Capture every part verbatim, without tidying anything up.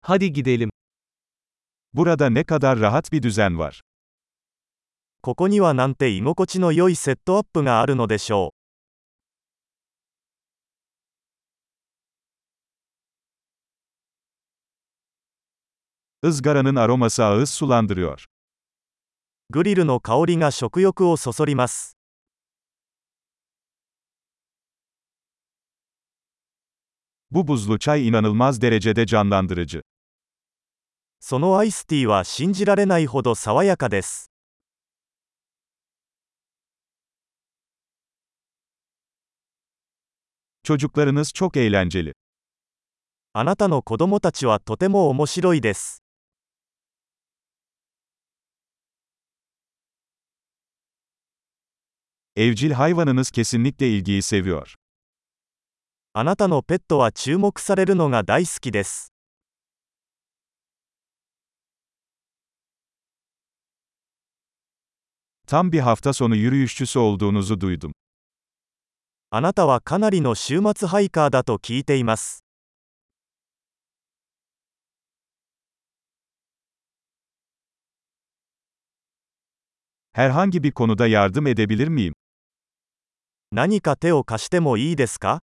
Hadi gidelim. Burada ne kadar rahat bir düzen var. ここにはなんて居心地の良いセットアップがあるのでしょ Izgaranın aroması ağız sulandırıyor. う。グリルの香りが食欲をそそります。 Bu buzlu çay inanılmaz derecede canlandırıcı. そのアイスティーは信じられないほど爽やかです。 Çocuklarınız çok eğlenceli. あなたの子供たちはとても面白いです。 Evcil hayvanınız kesinlikle ilgiyi seviyor. あなたのペットは注目されるのが大好きです。 Tam bir hafta sonu yürüyüşçüsü olduğunuzu duydum. あなたはかなりの週末ハイカーだと聞いています。 Herhangi bir konuda yardım edebilir miyim? 何か手を貸してもいいですか？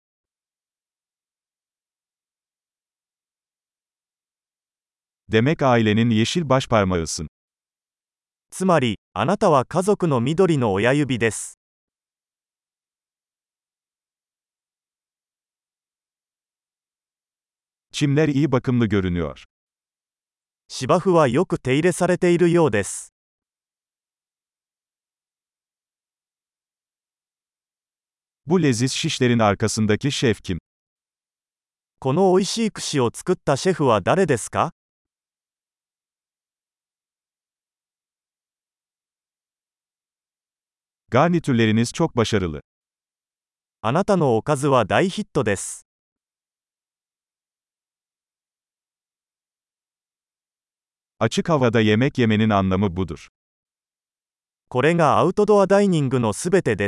Demek ailenin yeşil başparmağısın. つまり、あなたは家族の緑の親指です。 Çimler iyi bakımlı görünüyor. 芝生はよく手入れされているようです。 Bu leziz şişlerin arkasındaki şef kim? この美味しい串を作ったシェフは誰ですか？ Garnitürleriniz çok başarılı. あなたのおかずは大ヒットです。 Açık havada yemek yemenin anlamı budur. これがアウトドアダイニングのすべてです。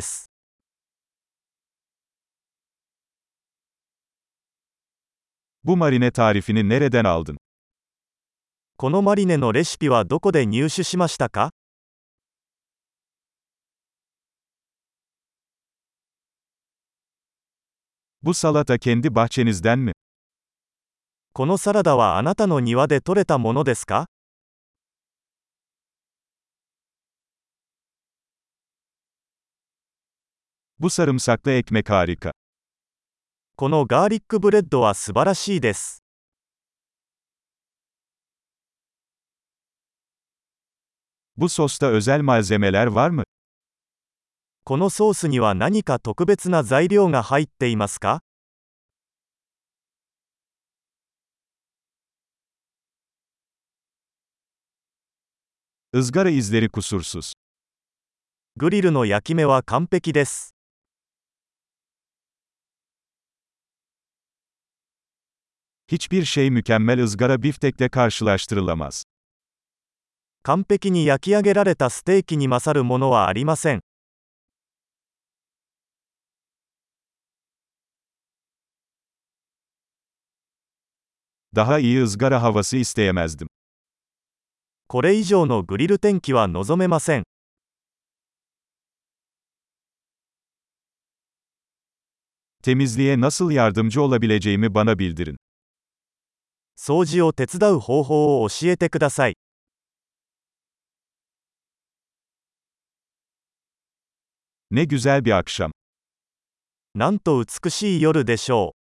Bu marine tarifini nereden aldın? このマリネのレシピはどこで入手しましたか？ Bu salata kendi bahçenizden mi? このサラダはあなたの庭で採れたものですか？ Bu sarımsaklı ekmek harika. このガーリックブレッドは素晴らしいです。 Bu sosta özel malzemeler var mı? このソースには何か特別な材料が入っていますか？ Izgara izleri kusursuz. グリルの焼き目は完璧です。 Hiçbir şey mükemmel ızgara biftekle karşılaştırılamaz. 完璧に焼き上げられたステーキに勝るものはありません。 Daha iyi ızgara havası isteyemezdim. これ以上のグリル天気は望めません。 Temizliğe nasıl yardımcı olabileceğimi bana bildirin. 掃除を手伝う方法を教えてください。 Ne güzel bir akşam. なんと美しい夜でしょう。